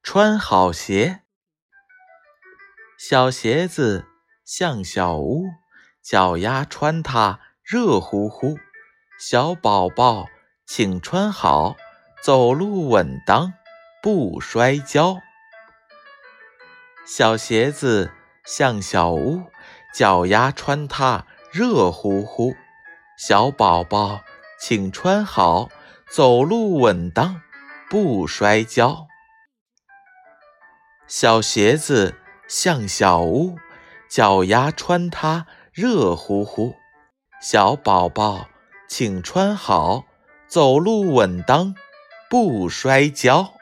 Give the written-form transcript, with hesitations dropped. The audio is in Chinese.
穿好鞋。小鞋子像小屋，脚丫穿它热乎乎。小宝宝请穿好，走路稳当不摔跤。小鞋子像小屋，脚丫穿它热乎乎。小宝宝请穿好，走路稳当不摔跤。小鞋子像小屋，脚丫穿它热乎乎。小宝宝请穿好，走路稳当不摔跤。